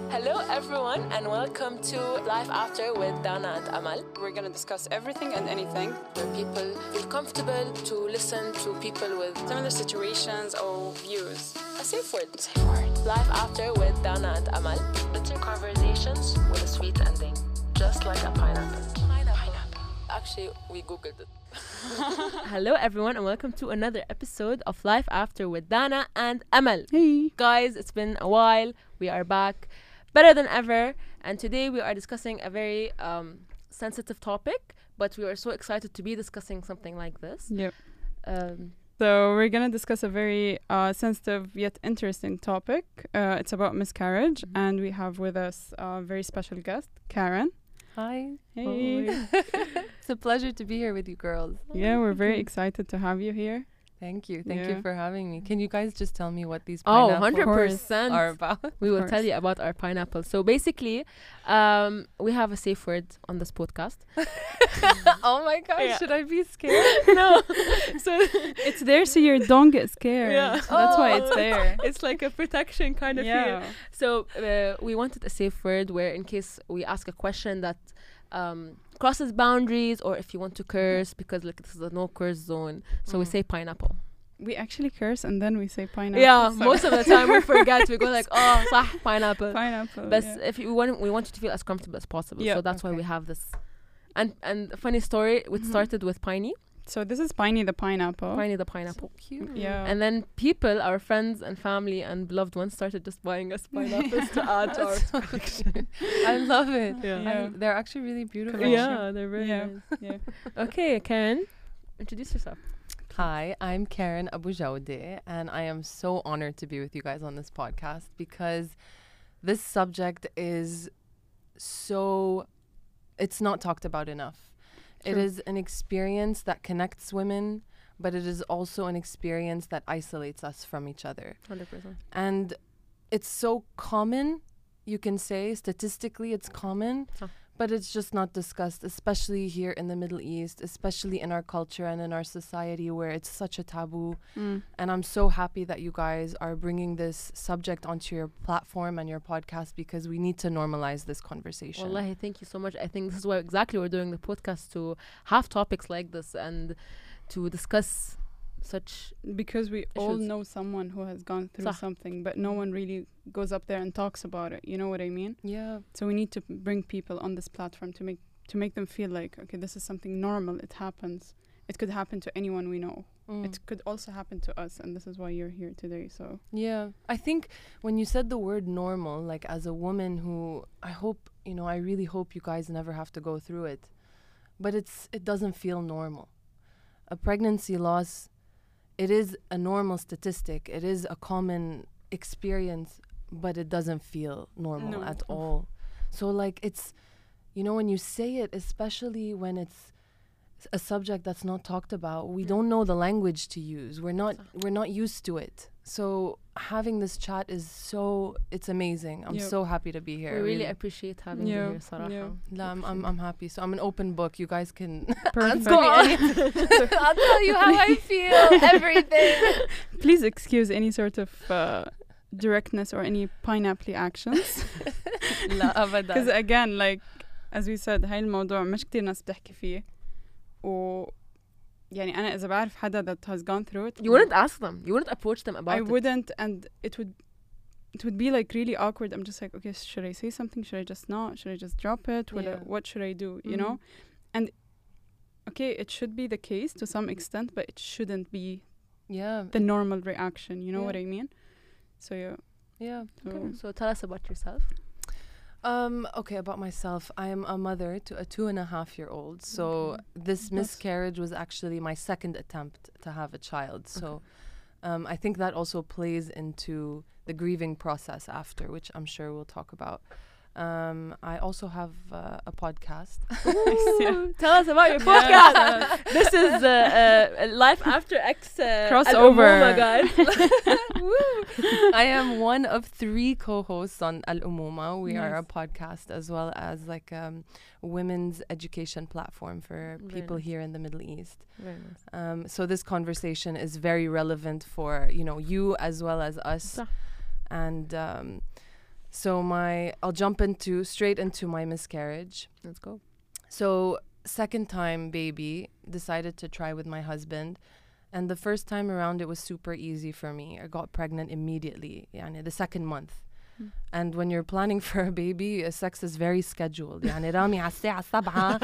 Hello everyone and welcome to Life After with Dana and Amal, We're going to discuss everything and anything. where people feel comfortable to listen to people with Similar situations or views. a safe word. Life After with Dana and Amal. Bitter conversations with a sweet ending, just like a pineapple. Actually, we googled it. Hello everyone and welcome to another episode of Life After with Dana and Amal. Hey. Guys, it's been a while. We are back better than ever, and today we are discussing a very sensitive topic, but we are so excited to be discussing something like this. Yep. Um, So we're going to discuss a very sensitive yet interesting topic. It's about miscarriage. And we have with us a very special guest, Karen. Hi. Hey. It's a pleasure to be here with you girls. Yeah, we're very excited to have you here. Thank you. Thank Yeah. you for having me. Can you guys just tell me what these Oh, pineapples 100%. are about? We will course. tell you about our pineapple. So basically, we have a safe word on this podcast. Oh my gosh, Yeah. should I be scared? No. So It's there so you don't get scared. Yeah. That's why it's Oh. there. it's like a protection kind of feel. Yeah. So we wanted a safe word where in case we ask a question that crosses boundaries, or if you want to curse, because like this is a no curse zone, so we Mm. say pineapple. We actually curse and then we say pineapple. Yeah, so- most of the time we forget. We go like, oh, صح, pineapple. pineapple. But yeah. if we want you to feel as comfortable as possible. Yeah, So that's why okay. we have this. And a funny story, it Mhm. started with Piney, So this is Piney the pineapple. Piney the pineapple. So cute. Yeah. And then people, our friends and family and beloved ones, started just buying us pineapples to add to our That's so collection. I love it. Yeah. Yeah. They're actually really beautiful. Yeah, they're very Yeah. nice. Yeah. Okay, Karen, introduce yourself. Hi, I'm Karen Abu Jawde, and I am so honored to be with you guys on this podcast because this subject is so, it's not talked about enough. It True. is an experience that connects women, but it is also an experience that isolates us from each other. 100%. And it's so common, you can say, statistically it's common, Huh. but it's just not discussed, especially here in the Middle East, especially in our culture and in our society where it's such a taboo. Mm. And I'm so happy that you guys are bringing this subject onto your platform and your podcast because we need to normalize this conversation. Wallahi, thank you so much. I think this is why exactly we're doing the podcast, to have topics like this and to discuss such. Because we all Issues. know someone who has gone through صح. something, but no one really goes up there and talks about it. You know what I mean? Yeah. So we need to bring people on this platform to make them feel like, okay, this is something normal. It happens. It could happen to anyone we know. Mm. It could also happen to us, and this is why you're here today. So Yeah, I think when you said the word normal, like as a woman who I hope, I really hope you guys never have to go through it, but it doesn't feel normal. A pregnancy loss, it is a normal statistic. It is a common experience, but it doesn't feel normal No. at all. So like it's, when you say it, especially when it's a subject that's not talked about, we don't know the language to use. We're not used to it. So having this chat is it's amazing. I'm Yep. so happy to be here. We really appreciate having you Yeah, here, Sarah. yeah. La, I'm happy. So I'm an open book. You guys can perfect. ask me anything. I'll tell you how I feel. Everything. Please excuse any sort of directness or any pineapple actions. لا Because أبدا. again, like as we said, هاي الموضوع مش كتير ناس بتحكي فيه. و يعني أنا إذا بعرف حدا that has gone through it, You wouldn't ask them. You wouldn't approach them about I it. wouldn't, and it would be like really awkward. I'm just like, okay, should I say something? Should I just not? Should I just drop it? Yeah. What should I do? You know? And okay, it should be the case to some extent, but it shouldn't be Yeah. the normal reaction. You know Yeah. what I mean? So yeah. Yeah. So, Okay, so tell us about yourself. Okay, about myself. I am a mother to a 2.5-year-old. So this That's- miscarriage was actually my second attempt to have a child. So I think that also plays into the grieving process after, which I'm sure we'll talk about. I also have a podcast. Ooh, tell us about your podcast. This is Life After X Crossover. Al-Umuma, guys. Woo. I am one of 3 co-hosts on Al-Umuma. We are a Nice. podcast as well as like women's education platform for Very people nice. here in the Middle East. Very nice. So this conversation is very relevant for, you as well as us. صح. And So I'll jump straight into my miscarriage. Let's go. So second time baby, decided to try with my husband. And the first time around, it was super easy for me. I got pregnant immediately, يعني the second month. And when you're planning for a baby, sex is very scheduled. يعني رامي على الساعة 7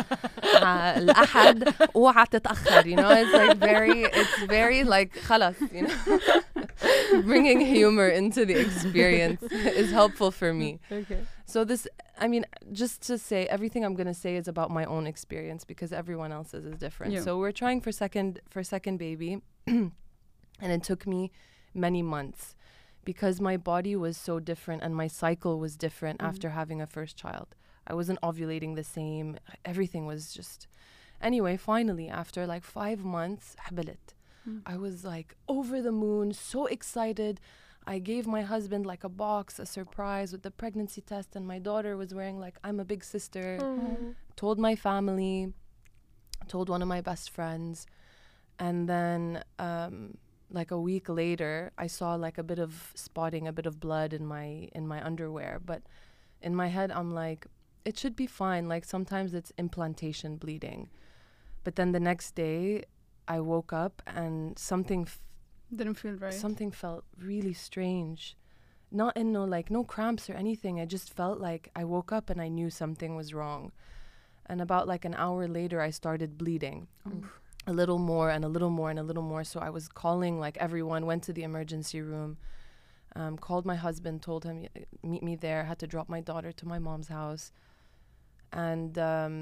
الأحد اوعى تتأخر. You know, it's very like خلاص, you know. Bringing humor into the experience is helpful for me. Okay. So just to say, everything I'm going to say is about my own experience because everyone else's is different. Yeah. So we're trying for second baby and it took me many months because my body was so different and my cycle was different after having a first child. I wasn't ovulating the same. Everything was just... Anyway, finally, after like 5 months, حبلت. I was like over the moon, so excited. I gave my husband like a box, a surprise with the pregnancy test, and my daughter was wearing like I'm a big sister. Told my family, told one of my best friends, and then like a week later, I saw like a bit of spotting, a bit of blood in my underwear. But in my head, I'm like, it should be fine. Like sometimes it's implantation bleeding. But then the next day, I woke up and something Didn't feel right. Something felt really strange. Not in no cramps or anything. I just felt like I woke up and I knew something was wrong. And about like an hour later, I started bleeding. A little more and a little more and a little more. So I was calling like everyone, went to the emergency room, called my husband, told him, meet me there. Had to drop my daughter to my mom's house. And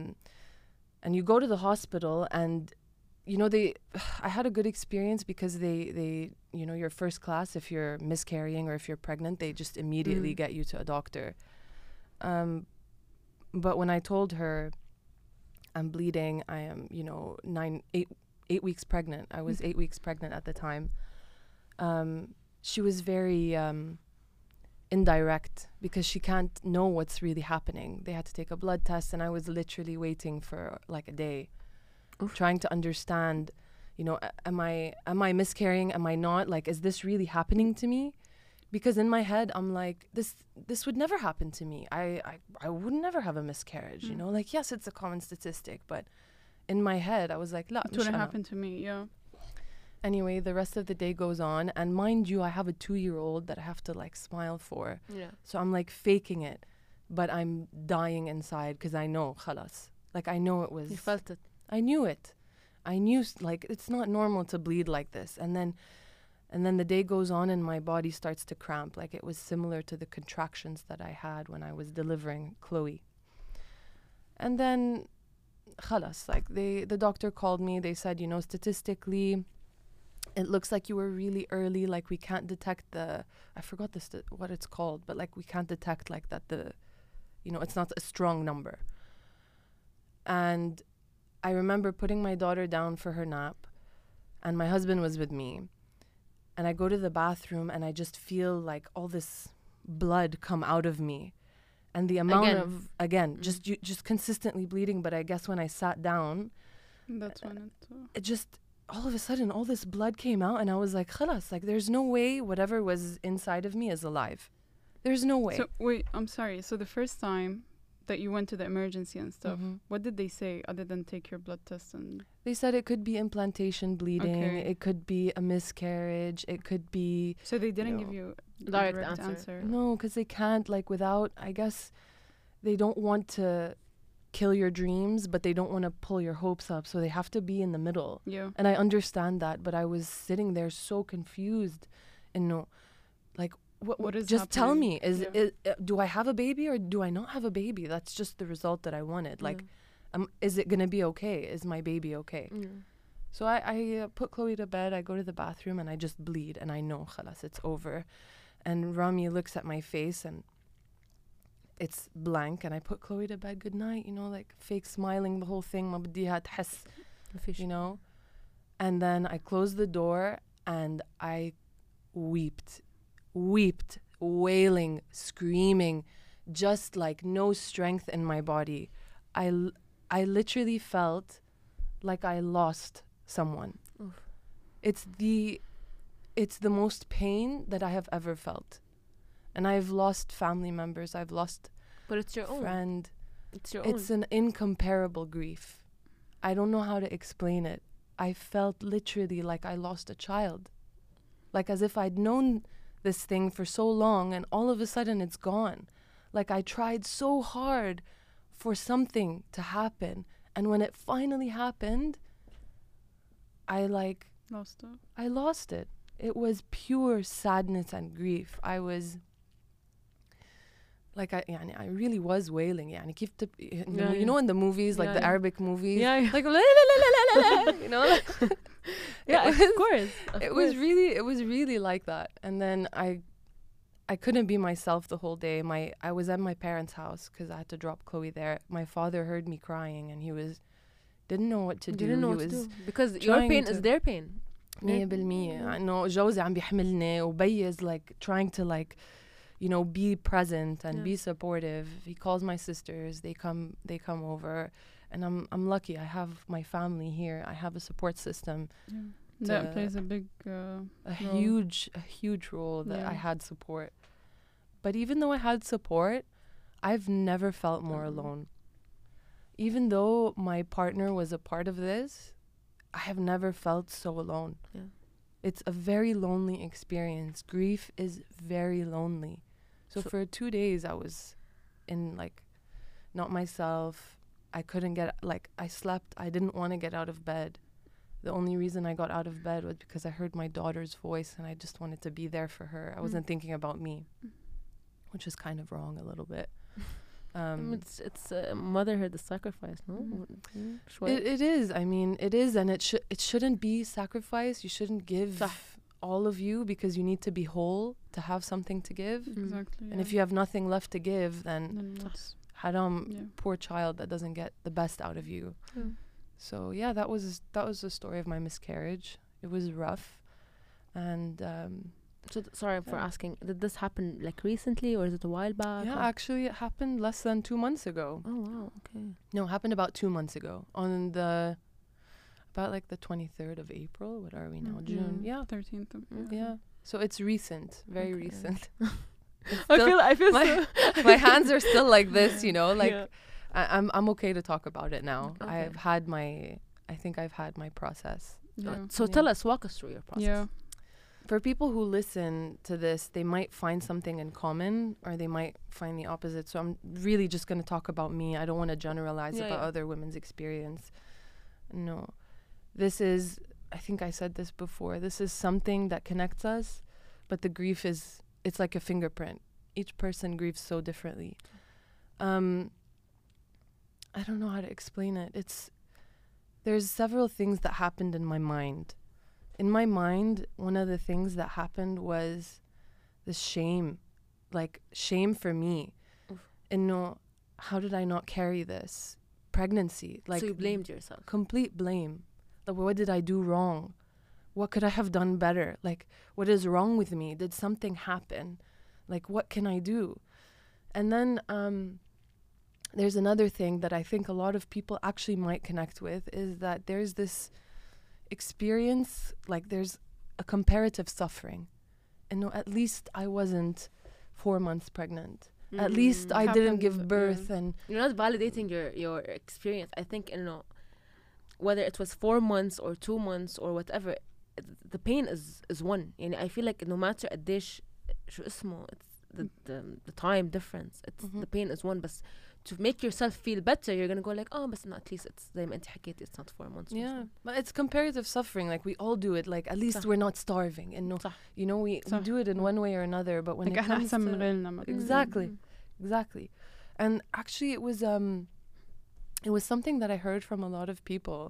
you go to the hospital and you know, I had a good experience because they, you know, you're first class if you're miscarrying or if you're pregnant, they just immediately get you to a doctor. But when I told her I'm bleeding, I am, you know, 8 weeks pregnant. I was 8 weeks pregnant at the time. She was very indirect because she can't know what's really happening. They had to take a blood test and I was literally waiting for like a day. Trying to understand, you know, am I miscarrying? Am I not? Like, is this really happening to me? Because in my head, I'm like, this would never happen to me. I would never have a miscarriage, you know? Like, yes, it's a common statistic, but in my head, I was like, la, it wouldn't happen to me, yeah. Anyway, the rest of the day goes on. And mind you, I have a 2-year-old that I have to, like, smile for. Yeah. So I'm, like, faking it. But I'm dying inside because I know, khalas. Like, I know it was... You felt it. I knew it. I knew, like, it's not normal to bleed like this. And then the day goes on and my body starts to cramp. Like, it was similar to the contractions that I had when I was delivering Chloe. And then, khalas, like, the doctor called me. They said, you know, statistically, it looks like you were really early. Like, we can't detect I forgot what it's called, but, like, we can't detect, like, that you know, it's not a strong number. And I remember putting my daughter down for her nap and my husband was with me. And I go to the bathroom and I just feel like all this blood come out of me. And the amount just consistently bleeding. But I guess when I sat down, that's when it just, all of a sudden, all this blood came out and I was like, khalas, like there's no way whatever was inside of me is alive. There's no way. So wait, I'm sorry. So the first time that you went to the emergency and stuff, what did they say other than take your blood test? And they said it could be implantation bleeding, it could be a miscarriage, it could be... So they didn't give you a direct answer? No, because they can't, like, without... I guess they don't want to kill your dreams, but they don't want to pull your hopes up, so they have to be in the middle. Yeah. And I understand that, but I was sitting there so confused and like... What is just happening? Tell me, do I have a baby or do I not have a baby? That's just the result that I wanted. Like, is it going to be okay? Is my baby okay? So I put Chloe to bed. I go to the bathroom and I just bleed. And I know, khalas, it's over. And Rami looks at my face and it's blank. And I put Chloe to bed. Good night, you know, like fake smiling, the whole thing. Ma badiha tḥس, you know. And then I closed the door and I wept, wailing, screaming, just like no strength in my body. I literally felt like I lost someone. Oof. It's the most pain that I have ever felt. And I've lost family members. I've lost But it's your own. friend. It's your own. It's an incomparable grief. I don't know how to explain it. I felt literally like I lost a child. Like as if I'd known this thing for so long and all of a sudden it's gone. Like I tried so hard for something to happen. And when it finally happened, I lost it. It was pure sadness and grief. I was like, I really was wailing. يعني كيف you know in the movies, like the Arabic movies, like la, la, la, la, la, la, you know, like of course. It was really like that. And then I couldn't be myself the whole day. I was at my parents' house because I had to drop Chloe there. My father heard me crying and he didn't know what to do. Didn't know what to do because your pain is their pain. 100%. إنه جوزي عم بيحملني وبيز like trying to like, you know, be present and be supportive. He calls my sisters. They come over, and I'm lucky. I have my family here. I have a support system. That plays a big a huge role that I had support. But even though I had support, I've never felt more alone. Even though my partner was a part of this, I have never felt so alone. Yeah. It's a very lonely experience. Grief is very lonely. So for 2 days I was in like not myself. I couldn't get, like, I slept. I didn't want to get out of bed. The only reason I got out of bed was because I heard my daughter's voice and I just wanted to be there for her. I wasn't thinking about me, which is kind of wrong a little bit. It's motherhood, the sacrifice, no? It is. I mean, it is, and it shouldn't be sacrifice. You shouldn't give all of you because you need to be whole to have something to give. Exactly. And if you have nothing left to give, then haram, poor child that doesn't get the best out of you. So yeah, that was the story of my miscarriage. It was rough, and sorry for asking. Did this happen like recently, or is it a while back? Yeah, actually, it happened less than 2 months ago. Oh wow, okay. No, it happened about 2 months ago on about like the 23rd of April. What are we now? June. Yeah, 13th. Yeah. So it's recent, very recent. I feel my hands are still like this, you know, like I'm okay to talk about it now. Okay. I think I've had my process. So tell us, walk us through your process. Yeah. For people who listen to this, they might find something in common or they might find the opposite. So I'm really just going to talk about me. I don't want to generalize about other women's experience. No. This is, I think I said this before, this is something that connects us, but the grief it's like a fingerprint. Each person grieves so differently. I don't know how to explain it. There's several things that happened in my mind. In my mind, one of the things that happened was the shame, like shame for me. And no, how did I not carry this pregnancy? Like, so you blamed yourself. Complete blame. Like, what did I do wrong? What could I have done better? Like, what is wrong with me? Did something happen? Like, what can I do? And then there's another thing that I think a lot of people actually might connect with is that there's this experience, like there's a comparative suffering. And no, at least I wasn't 4 months pregnant. At least I didn't give birth. And you're not validating your experience. I think, you know, whether it was 4 months or 2 months or whatever, the pain is one. And I feel like no matter قديش شو اسمه, it's the time difference. It's the pain is one. But to make yourself feel better, you're gonna go like, oh, but at least it's زي ما انت حكيتي, it's not 4 months. Yeah, but it's comparative suffering. Like we all do it. Like at least we're not starving, and no, you know, we do it in one way or another. But when it comes to exactly, and actually it was something that I heard from a lot of people.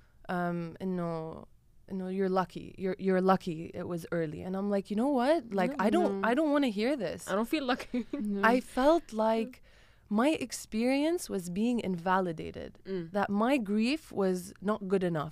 You're lucky. You're lucky it was early. And I'm like, you know what? Like I don't want to hear this. I don't feel lucky. I felt like my experience was being invalidated. That my grief was not good enough.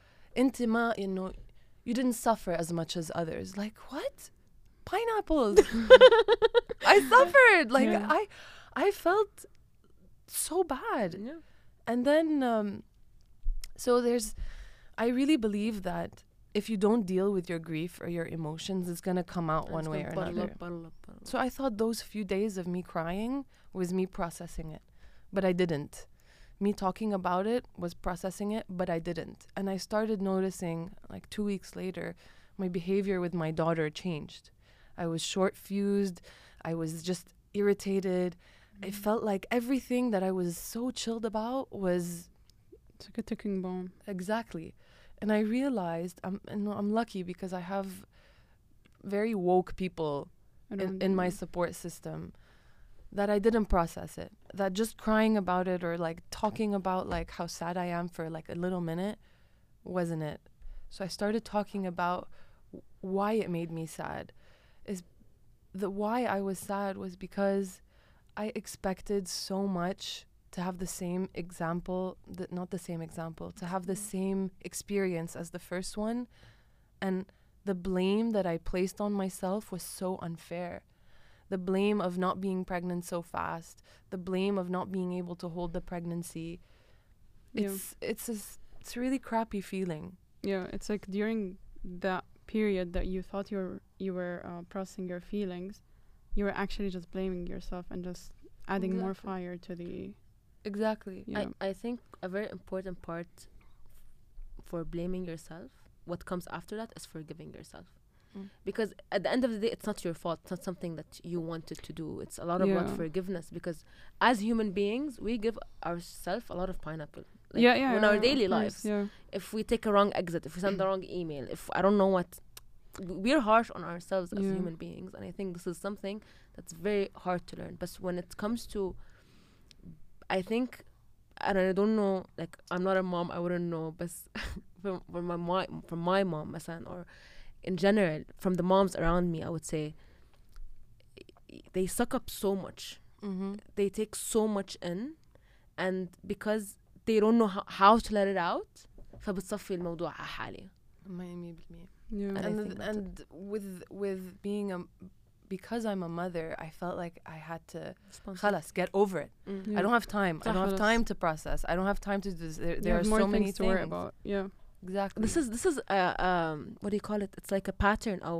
You didn't suffer as much as others. Like, what? Pineapples. I suffered. Like I felt so bad. And then so I really believe that if you don't deal with your grief or your emotions, it's going to come out one way or another. So I thought those few days of me crying was me processing it, but I didn't. Me talking about it was processing it, but I didn't. And I started noticing, like 2 weeks later, my behavior with my daughter changed. I was short-fused. I was just irritated. I felt like everything that I was so chilled about was... It's like a ticking bomb. Exactly. And I realized I'm lucky because I have very woke people in my support system, that I didn't process it. That just crying about it or like talking about like how sad I am for like a little minute wasn't it. So I started talking about why it made me sad. Is the why I was sad was because I expected so much to have the same example, not the same example, to have the same experience as the first one. And the blame that I placed on myself was so unfair. The blame of not being pregnant so fast, the blame of not being able to hold the pregnancy. It's a really crappy feeling. Yeah, it's like during that period that you thought you were processing your feelings, you were actually just blaming yourself and just adding more fire to the... Exactly. Yeah. I think a very important part for blaming yourself, what comes after that, is forgiving yourself. Because at the end of the day, it's not your fault. It's not something that you wanted to do. It's a lot about forgiveness, because as human beings, we give ourselves a lot of pineapple. Like in our daily lives. Yeah. If we take a wrong exit, if we send the wrong email, if I don't know what, we're harsh on ourselves as human beings. And I think this is something that's very hard to learn. But when it comes to, I think, and I don't know, like, I'm not a mom, I wouldn't know, but from my mom, مثلا, or in general, from the moms around me, I would say they suck up so much. They take so much in, and because they don't know how to let it out, فبتصفي الموضوع على حالي. 100%. And with being because I'm a mother, I felt like I had to خلاص, get over it. I don't have time. I don't have time to process. I don't have time to do this. There are so many things to worry about. Yeah. Exactly. This is what do you call it? It's like a pattern or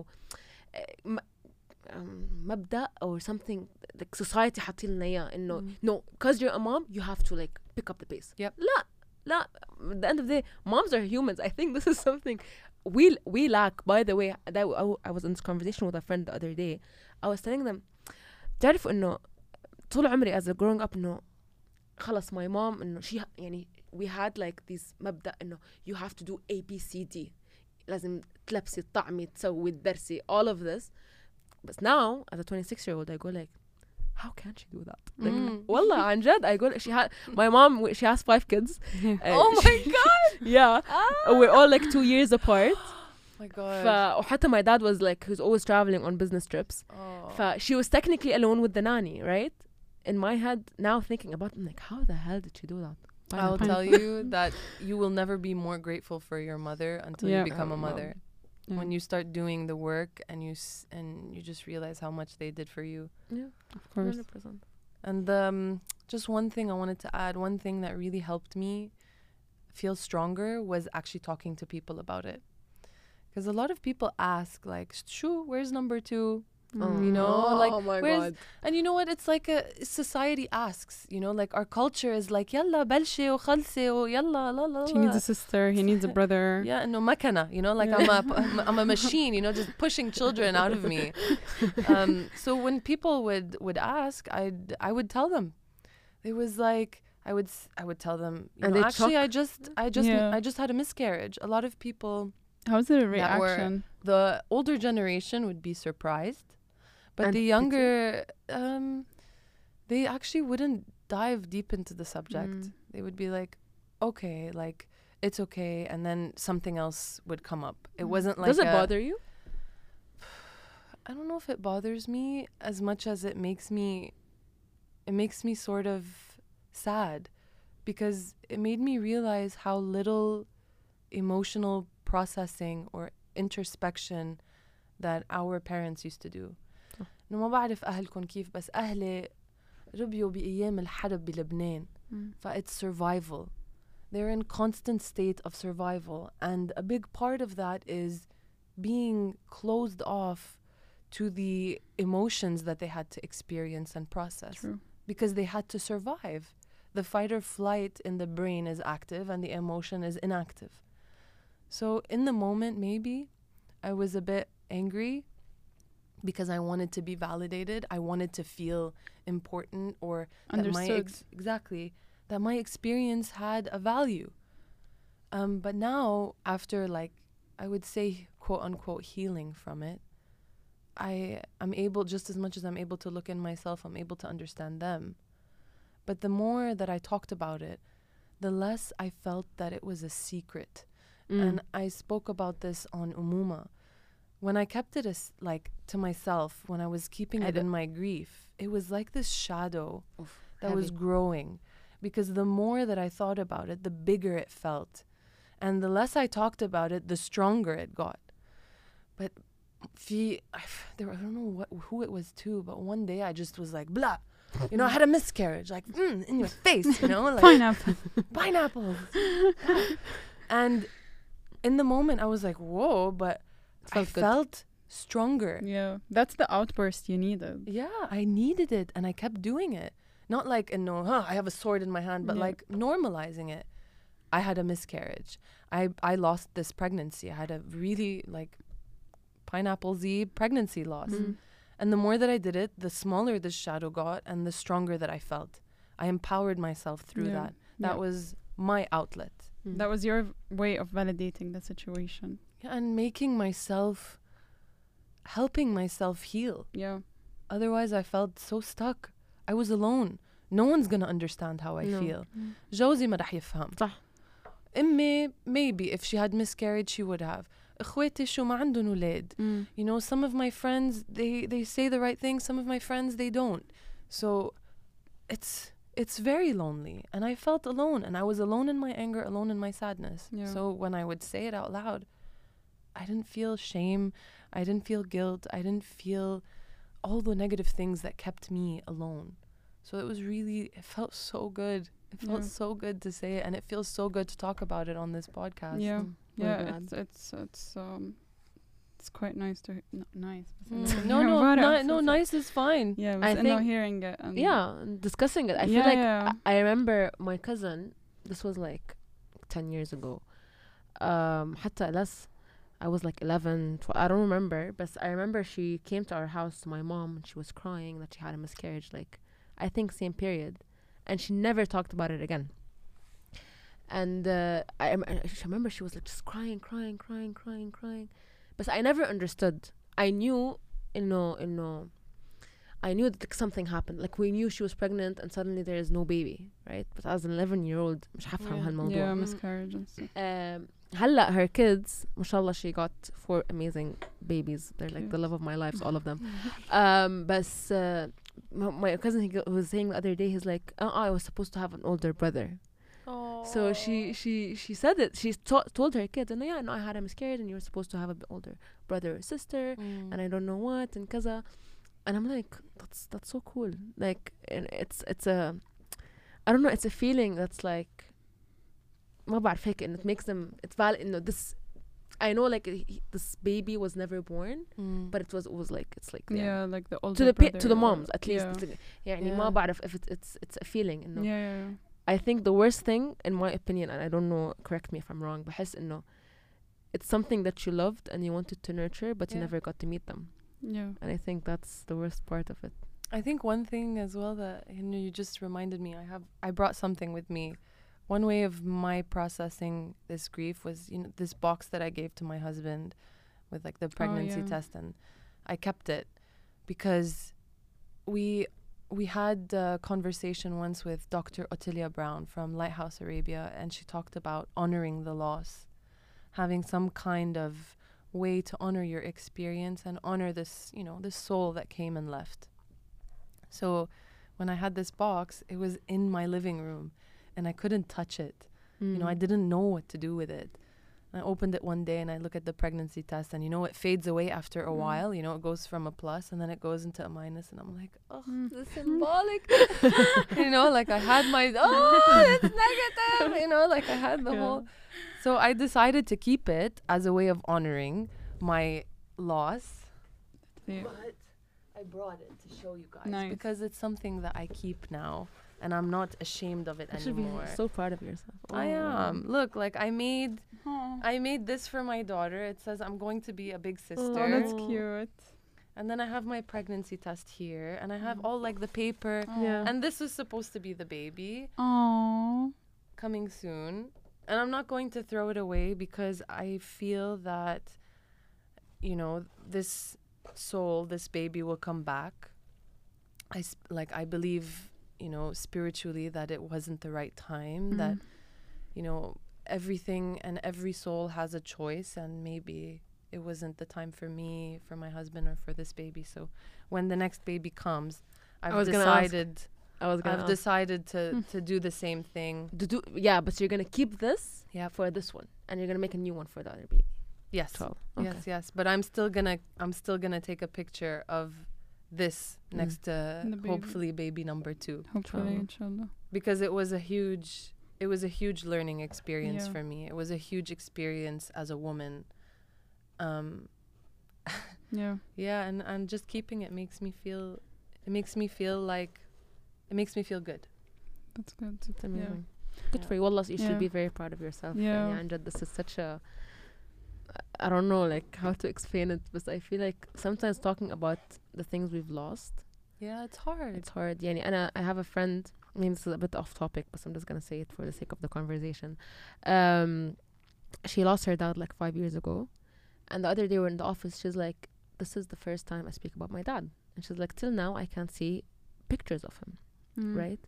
مبدأ or something, like society حاطين لنا إياه إنه no, because you're a mom you have to like pick up the pace. Yep. لا, at the end of the day, moms are humans. I think this is something we lack. By the way, I was in this conversation with a friend the other day. I was telling them, تعرف إنه طول عمري as a growing up إنه خلاص my mom إنه she يعني we had like this مبدأ إنه you have to do A B C D, لازم تلبسي تطعمي تسوي تدرسي, all of this. But now as a 26-year-old I go like, how can she do that? Like, والله عن جد, I go, my mom, she has 5 kids. Oh my god. Yeah. We're all like 2 years apart. Oh my god. وحتى my dad was like, who's always traveling on business trips. She was technically alone with the nanny, right? In my head now thinking about it, I'm like, how the hell did she do that? I'll tell you that you will never be more grateful for your mother until you become a mother. When you start doing the work and you just realize how much they did for you. Yeah, of course. 100%. And just one thing I wanted to add, one thing that really helped me feel stronger was actually talking to people about it. Because a lot of people ask like, "Shoo, where's number 2?" You know, like, oh my where's... God. And you know what? It's like society asks, you know, like our culture is like, يلا بلشي وخلصي ويلا لا لا. She needs a sister, he needs a brother. Yeah, no makana, you know, like I'm a machine, you know, just pushing children out of me. So when people would ask, I would tell them. It was like I would tell them, you know, actually I just had a miscarriage. A lot of people. How's the reaction? The older generation would be surprised, but the younger, they actually wouldn't dive deep into the subject. They would be like, okay, like, it's okay, and then something else would come up. It wasn't like... Does it bother you? I don't know if it bothers me as much as it makes me sort of sad, because it made me realize how little emotional processing or introspection that our parents used to do. إنه ما بعرف أهلكم كيف, بس أهلي ربيوا بأيام الحرب بلبنان. It's survival. they're in constant state of survival. And a big part of that is being closed off to the emotions that they had to experience and process. True. Because they had to survive. The fight or flight in the brain is active and the emotion is inactive. So in the moment, maybe I was a bit angry because I wanted to be validated. I wanted to feel important, or that that my experience had a value. But now, after like, I would say, quote unquote, healing from it, I'm able, just as much as I'm able to look in myself, I'm able to understand them. But the more that I talked about it, the less I felt that it was a secret. And I spoke about this on Umuma. When I kept it as like to myself, when I was keeping it in my grief, it was like this shadow that was growing. Because the more that I thought about it, the bigger it felt. And the less I talked about it, the stronger it got. But I don't know who it was to, but one day I just was like, blah. You know, I had a miscarriage, like, in your face, you know? Like, pineapples. And in the moment, I was like, whoa, but I felt stronger. Yeah, that's the outburst you needed. Yeah, I needed it, and I kept doing it. Not like, I have a sword in my hand, but like normalizing it. I had a miscarriage. I lost this pregnancy. I had a really, like, pineapple-y pregnancy loss. And the more that I did it, the smaller the shadow got and the stronger that I felt. I empowered myself through that. That was my outlet. That was your way of validating the situation. Yeah, and helping myself heal. Yeah. Otherwise, I felt so stuck. I was alone. No one's gonna understand how I feel. جوزي ما رح يفهم. صح. أمي, maybe if she had miscarried, she would have. اخواتي شو ما عندن ولاد. You know, some of my friends, they say the right thing. Some of my friends, they don't. So it's very lonely. And I felt alone. And I was alone in my anger, alone in my sadness. Yeah. So when I would say it out loud, I didn't feel shame. I didn't feel guilt. I didn't feel all the negative things that kept me alone. So it felt so good. It felt so good to say it. And it feels so good to talk about it on this podcast. Yeah. Yeah, it's quite nice to nice. No, nice is fine. Yeah, I think hearing it. Discussing it. I feel like I remember my cousin. This was like 10 years ago. حتى less. I was like 11. I don't remember, but I remember she came to our house to my mom and she was crying that she had a miscarriage. Like, I think same period, and she never talked about it again. And I remember she was like just crying. But I never understood. I knew, I knew that like, something happened. Like we knew she was pregnant and suddenly there is no baby, right? But as an 11-year-old, مش حفهم هالموضوع. Yeah, miscarriage and stuff. هلا her kids, mashallah, she got 4 amazing babies. They're like the love of my life, all of them. But my cousin, he was saying the other day, he's like, I was supposed to have an older brother. So she said it. She told her kids, and I had a miscarriage, and you were supposed to have an older brother or sister, and I don't know what, and kaza. And I'm like, that's so cool. Like, and it's a, I don't know, it's a feeling that's like, ما بعرف هيك, and it makes them, it's valid. This, I know, like this baby was never born, but it was like, it's like like the older brother to the moms at least. يعني ما بعرف if it's a feeling. Yeah. I think the worst thing, in my opinion, and I don't know, correct me if I'm wrong, بحس إنه it's something that you loved and you wanted to nurture, but you never got to meet them. Yeah. And I think that's the worst part of it. I think one thing as well that you just reminded me, I brought something with me. One way of my processing this grief was, this box that I gave to my husband with like the pregnancy test, and I kept it because we had a conversation once with Dr. Ottilia Brown from Lighthouse Arabia, and she talked about honoring the loss, having some kind of way to honor your experience and honor this, this soul that came and left. So when I had this box, it was in my living room and I couldn't touch it. I didn't know what to do with it. I opened it one day and I look at the pregnancy test, and it fades away after a while. It goes from a plus and then it goes into a minus, and I'm like, oh, this is symbolic. Like I had my, it's negative. Like I had the whole. So I decided to keep it as a way of honoring my loss. Yeah. But I brought it to show you guys Nice. because it's something that I keep now, and I'm not ashamed of it You should be anymore. so proud of yourself. I am. Look, like I made Oh, this for my daughter. It says I'm going to be a big sister. oh, that's cute. And then I have my pregnancy test here, and I have all like the paper. Yeah. And this was supposed to be the baby Oh, coming soon. And I'm not going to throw it away because I feel that, this soul, this baby will come back. I believe, spiritually that it wasn't the right time, that, everything and every soul has a choice, and maybe it wasn't the time for me, for my husband, or for this baby. So when the next baby comes, I've decided to do the same thing. Yeah, but you're gonna keep this Yep. for this one, and you're gonna make a new one for the other baby. Yes. 12. Okay. Yes. But I'm still gonna take a picture of this next to The baby. hopefully baby number 2, hopefully, Inshallah. inshallah. because it was a huge learning experience Yeah. for me. It was a huge experience as a woman. Yeah. Yeah, and just keeping it makes me feel good. That's good. It's amazing. Good Yeah. for you. Wallah, you Yeah. should be very proud of yourself. Yeah. And this is such a, I don't know like how to explain it, but I feel like sometimes talking about the things we've lost, Yeah, it's hard. it's hard. Yani, and I have a friend, I mean, this is a bit off topic, but I'm just going to say it for the sake of the conversation. She lost her dad like 5 years ago. And the other day we're in the office, she's like, this is the first time I speak about my dad. And she's like, till now I can't see pictures of him, right?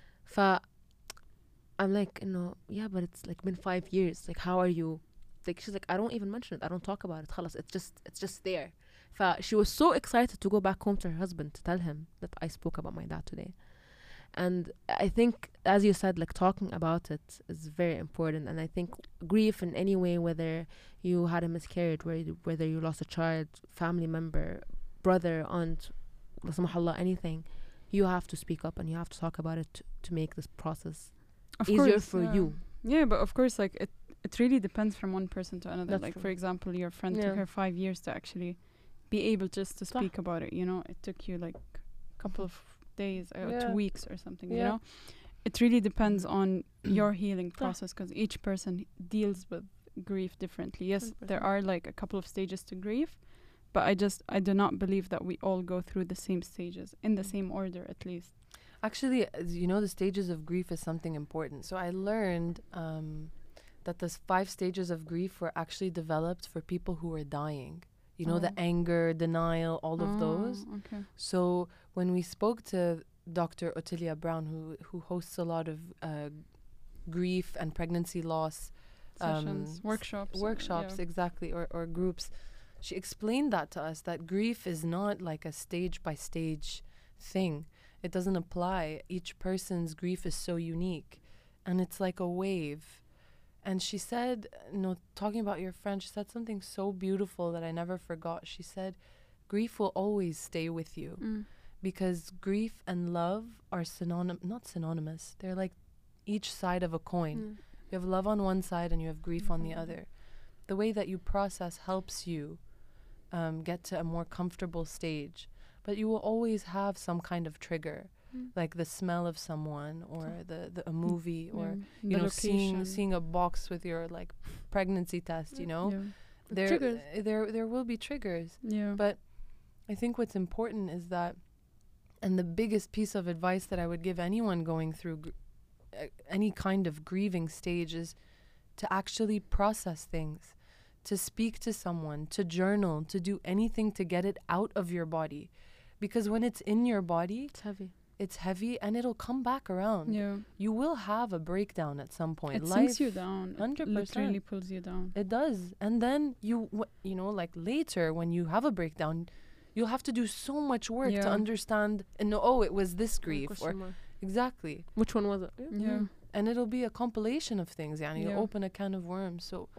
I'm like, yeah, but it's like been 5 years. Like, how are you? Like, she's like, I don't even mention it. I don't talk about it. Khalas, it's just there. She was so excited to go back home to her husband to tell him that I spoke about my dad today. And I think, as you said, like talking about it is very important. And I think grief in any way, whether you had a miscarriage, whether you lost a child, family member, brother, aunt, la samahallah, anything, you have to speak up and you have to talk about it to make this process Of easier course, for yeah. you. Yeah, but of course, like it really depends from one person to another. That's Like true. for example, your friend Yeah. took her 5 years to actually be able just to speak about it. It took you like a couple of days or 2 Yeah. weeks or something. Yeah. It really depends on your healing process because each person deals with grief differently. Yes, there 100%. are like a couple of stages to grief, but I do not believe that we all go through the same stages in the same order at least. Actually, the stages of grief is something important. So I learned that the 5 stages of grief were actually developed for people who were dying. The anger, denial, all of those. Okay. So when we spoke to Dr. Ottilia Brown, who hosts a lot of grief and pregnancy loss Sessions, workshops. exactly, or groups, she explained that to us, that grief is not like a stage by stage thing. It doesn't apply. Each person's grief is so unique, and it's like a wave. And she said, talking about your friend, she said something so beautiful that I never forgot. She said, grief will always stay with you because grief and love are not synonymous. They're like each side of a coin. You have love on one side and you have grief on the other. The way that you process helps you get to a more comfortable stage. But you will always have some kind of trigger, like the smell of someone or a movie or seeing a box with your like pregnancy test. There will be triggers. Yeah. But I think what's important is that, and the biggest piece of advice that I would give anyone going through any kind of grieving stage is to actually process things, to speak to someone, to journal, to do anything to get it out of your body. Because when it's in your body, it's heavy and it'll come back around. Yeah. You will have a breakdown at some point. It sinks you down. 100%. It literally pulls you down. It does. And then like later when you have a breakdown, you'll have to do so much work to understand and know, it was this grief. Exactly. Which one was it? Yeah. And it'll be a compilation of things. You Yeah. open a can of worms. So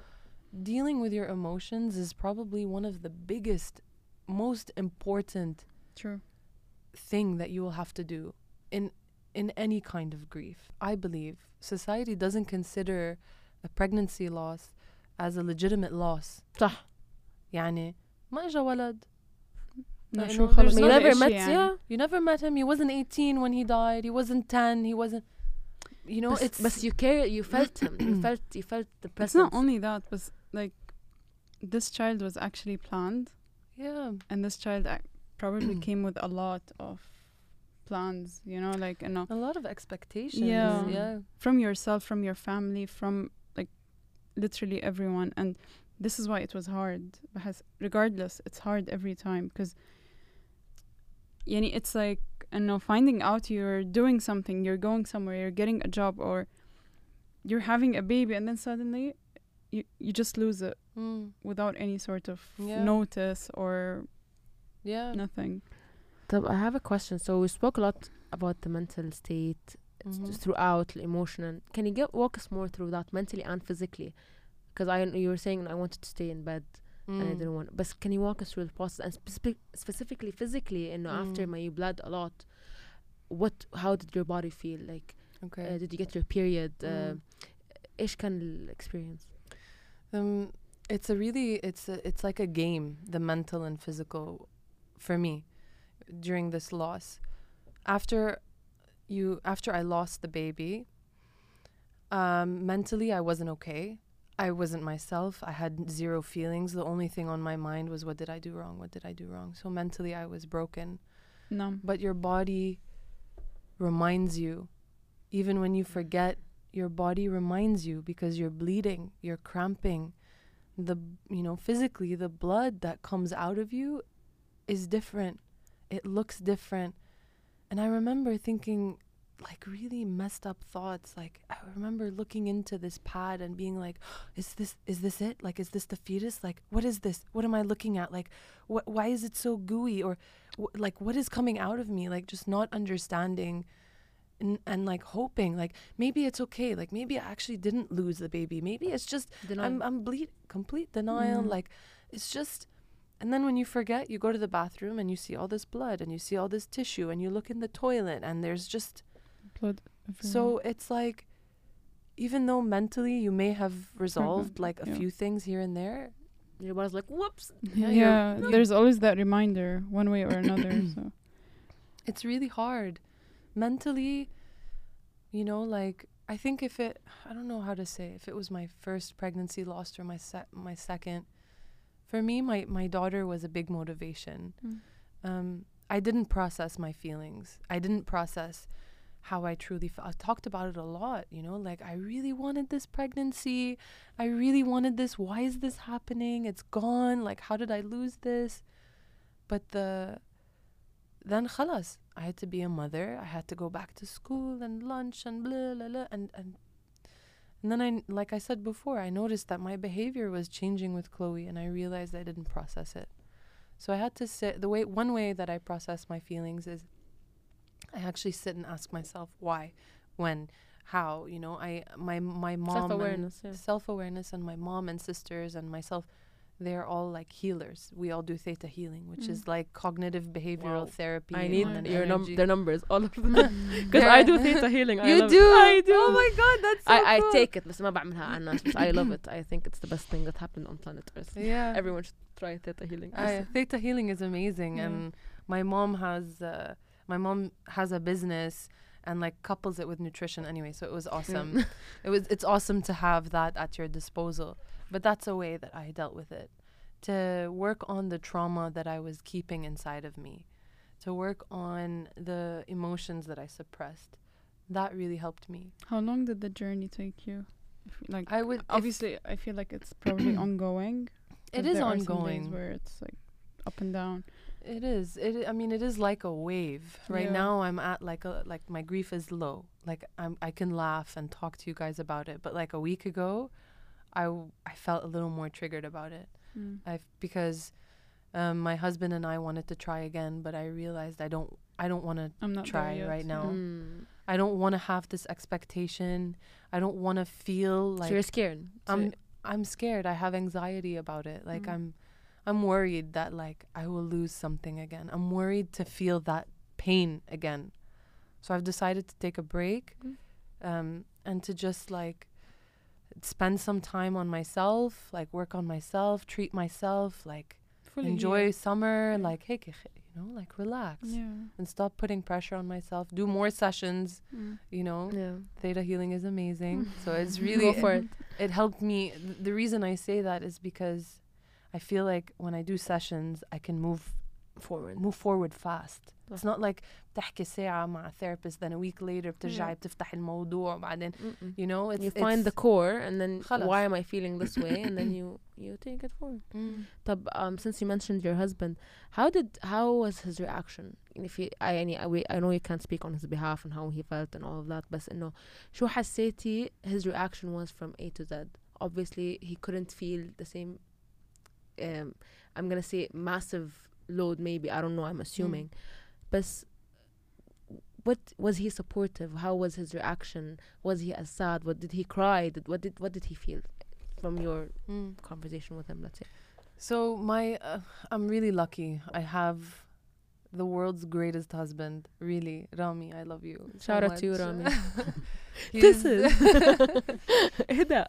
dealing with your emotions is probably one of the biggest, most important True. thing that you will have to do in any kind of grief. I believe society doesn't consider a pregnancy loss as a legitimate loss. صح. يعني ما اجا ولد. No, You sure, know, خلاص there's ما no في never إشي met يعني. yeah. You never met him. He wasn't 18 when he died. He wasn't 10. He wasn't. You know, But you felt him. You felt the presence. It's not only that, but like this child was actually planned, yeah. and this child probably came with a lot of plans. You know, like A lot of expectations. Yeah. Yeah. from yourself, from your family, from like literally everyone. And this is why it was hard. Because regardless, it's hard every time because yani it's like finding out you're doing something, you're going somewhere, you're getting a job, or you're having a baby, and then suddenly you just lose it without any sort of Yeah. notice or Yeah. nothing. I have a question. So we spoke a lot about the mental state throughout, the emotional. Can you walk us more through that mentally and physically? Because you were saying I wanted to stay in bed and I didn't want. But can you walk us through the process and specifically physically? After you bled a lot, how did your body feel? Like, Okay. did you get your period? إيش كان experience? It's like a game, the mental and physical, for me, during this loss. After I lost the baby, mentally I wasn't okay. I wasn't myself. I had zero feelings. The only thing on my mind was, what did I do wrong? What did I do wrong? So mentally I was broken. No. But your body reminds you, even when you forget, your body reminds you because you're bleeding, you're cramping. Physically, the blood that comes out of you is different. It looks different. And I remember thinking like really messed up thoughts. Like I remember looking into this pad and being like, is this it? Like, is this the fetus? Like, what is this? What am I looking at? Like, why is it so gooey? Or like, what is coming out of me? Like, just not understanding and like hoping like maybe it's okay. Like maybe I actually didn't lose the baby. Maybe it's just I'm complete denial. Like it's just. And then when you forget, you go to the bathroom and you see all this blood and you see all this tissue and you look in the toilet and there's just Blood everywhere. so it's like, even though mentally you may have resolved like a Yeah. few things here and there, Your body's like, whoops. Yeah, there's always that reminder one way or another. So it's really hard mentally. Like I think I don't know how to say, if it was my first pregnancy loss or my second, for me my daughter was a big motivation. I didn't process my feelings. I didn't process how I truly felt. I talked about it a lot, like I really wanted this pregnancy. I really wanted this. Why is this happening? It's gone. Like, how did I lose this? But then khalas, I had to be a mother. I had to go back to school and lunch and blah, blah, blah. And then like I said before, I noticed that my behavior was changing with Chloe and I realized I didn't process it. So I had to sit. One way that I process my feelings is I actually sit and ask myself why, when, how. My mom, self-awareness, and my mom and sisters and myself, they're all like healers. We all do theta healing, which is like cognitive behavioral therapy. I need and their numbers, all of them, because I do theta healing. You do? I do. Oh my god, that's so I cool. take it, بس ما بعملها على الناس. But I love it. I think it's the best thing that happened on planet Earth. Yeah. Everyone should try theta healing. Theta healing is amazing. Yeah. And my mom has a business and like couples it with nutrition anyway, so it was awesome. It's awesome to have that at your disposal. But that's a way that I dealt with it, to work on the trauma that I was keeping inside of me, to work on the emotions that I suppressed. That really helped me. how long did the journey take you? Like I would obviously I feel like it's probably ongoing. It 'cause is there are some ongoing. days where it's like up and down. It is. It is like a wave. Right Yeah. now I'm at like my grief is low. Like I can laugh and talk to you guys about it. But like a week ago, I felt a little more triggered about it. Because my husband and I wanted to try again, but I realized I don't want to I'm not try there yet. right now. Yeah. I don't want to have this expectation. I don't want to feel like So you're scared. I'm scared. I have anxiety about it. Like Mm. I'm worried that like I will lose something again. I'm worried to feel that pain again. So I've decided to take a break, and to just like spend some time on myself, like work on myself, treat myself, like Fully enjoy healed. summer, Yeah. like hey, like relax Yeah. and stop putting pressure on myself. Do more sessions, Mm. Yeah. Theta healing is amazing. So it's really Go for it. it helped me. The reason I say that is because I feel like when I do sessions, I can move forward fast. It's not like بتحكي ساعة مع therapist, then a week later بترجعي بتفتح الموضوع بعدين you know it's, you find the core and then خلص. why am I feeling this way and then you take it forward. طب since you mentioned your husband, how was his reaction? If he, I know you can't speak on his behalf and how he felt and all of that, بس إنه شو حسيتي his reaction was from A to Z? Obviously he couldn't feel the same I'm gonna say massive load, maybe, I don't know, I'm assuming. But what was he supportive? How was his reaction? Was he as sad? What did he cry? What did he feel from your conversation with him, let's say? So I'm really lucky. I have the world's greatest husband, really. Rami, I love you so Shout out much. to you, Rami. This is هدا.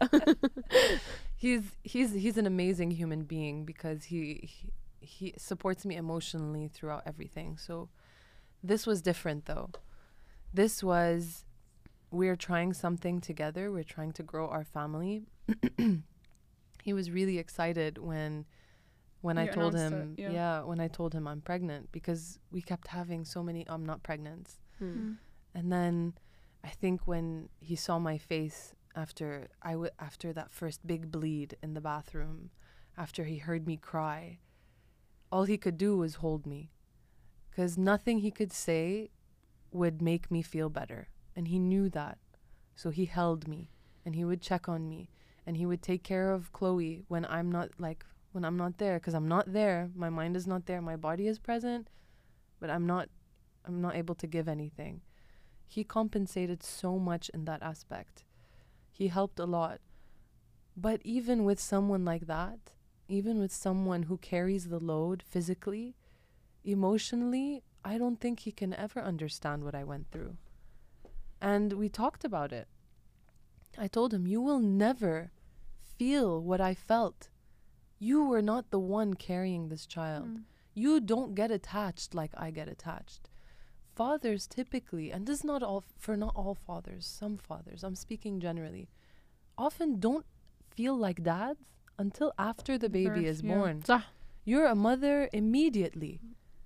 he's an amazing human being because he supports me emotionally throughout everything. So this was different though. This was, we're trying something together. We're trying to grow our family. He was really excited when I You told announced him, it, when I told him I'm pregnant, because we kept having so many I'm not pregnant. Mm. And then I think when he saw my face after that first big bleed in the bathroom, after he heard me cry, all he could do was hold me, because nothing he could say would make me feel better. And he knew that. So he held me and he would check on me and he would take care of Chloe when I'm not there, because I'm not there. My mind is not there. My body is present, but I'm not able to give anything. He compensated so much in that aspect. He helped a lot. But even with someone like that, even with someone who carries the load physically, emotionally, I don't think he can ever understand what I went through. And we talked about it. I told him, you will never feel what I felt. You were not the one carrying this child. You don't get attached like I get attached. Fathers typically, and this is not all fathers, some fathers, I'm speaking generally, often don't feel like dads until after the baby is born. صح. You're a mother immediately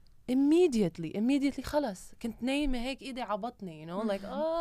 خلاص كنت نايمة هيك إيدي عبطني, you know, like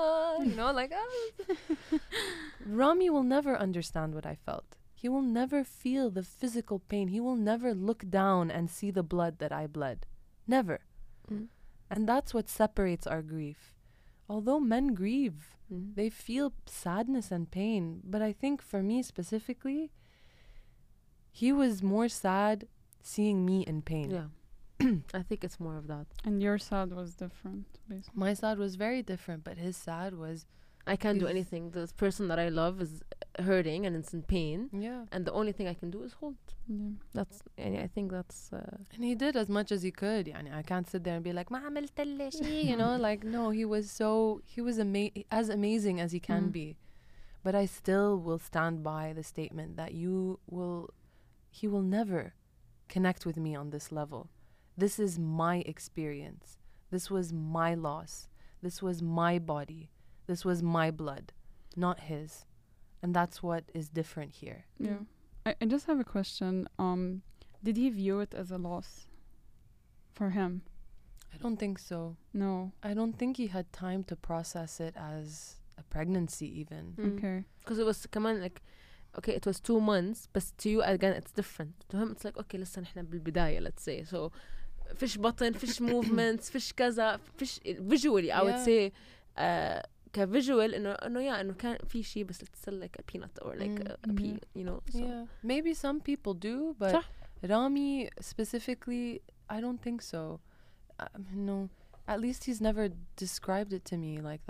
Rami will never understand what I felt. He will never feel the physical pain. He will never look down and see the blood that I bled. Never. And that's what separates our grief. Although men grieve, they feel sadness and pain. But I think for me specifically, he was more sad seeing me in pain. Yeah. I think it's more of that. And your sad was different, basically. My sad was very different, but his sad was... I can't do anything. This person that I love is hurting and it's in pain. Yeah. And the only thing I can do is hold. Yeah. That's, and I think that's... And he did as much as he could. يعني I can't sit there and be like, ما عملت لي شيء, you know, like, no, he was as amazing as he can be. But I still will stand by the statement that he will never connect with me on this level. This is my experience. This was my loss. This was my body. This was my blood, not his. And that's what is different here. Yeah. I just have a question. Did he view it as a loss for him? I don't think so. No. I don't think he had time to process it as a pregnancy even. Okay. Because it was كمان like, okay, it was 2 months, but to you again it's different. To him it's like, okay, لسه نحن بالبداية, let's say. So fish button, fish movements, fish كذا, fish visually I would say كvisual إنه كان في شيء بس it's still like a peanut or like a pea, you know. So. Yeah, maybe some people do, but صح. Rami specifically, I don't think so. No, at least he's never described it to me like that.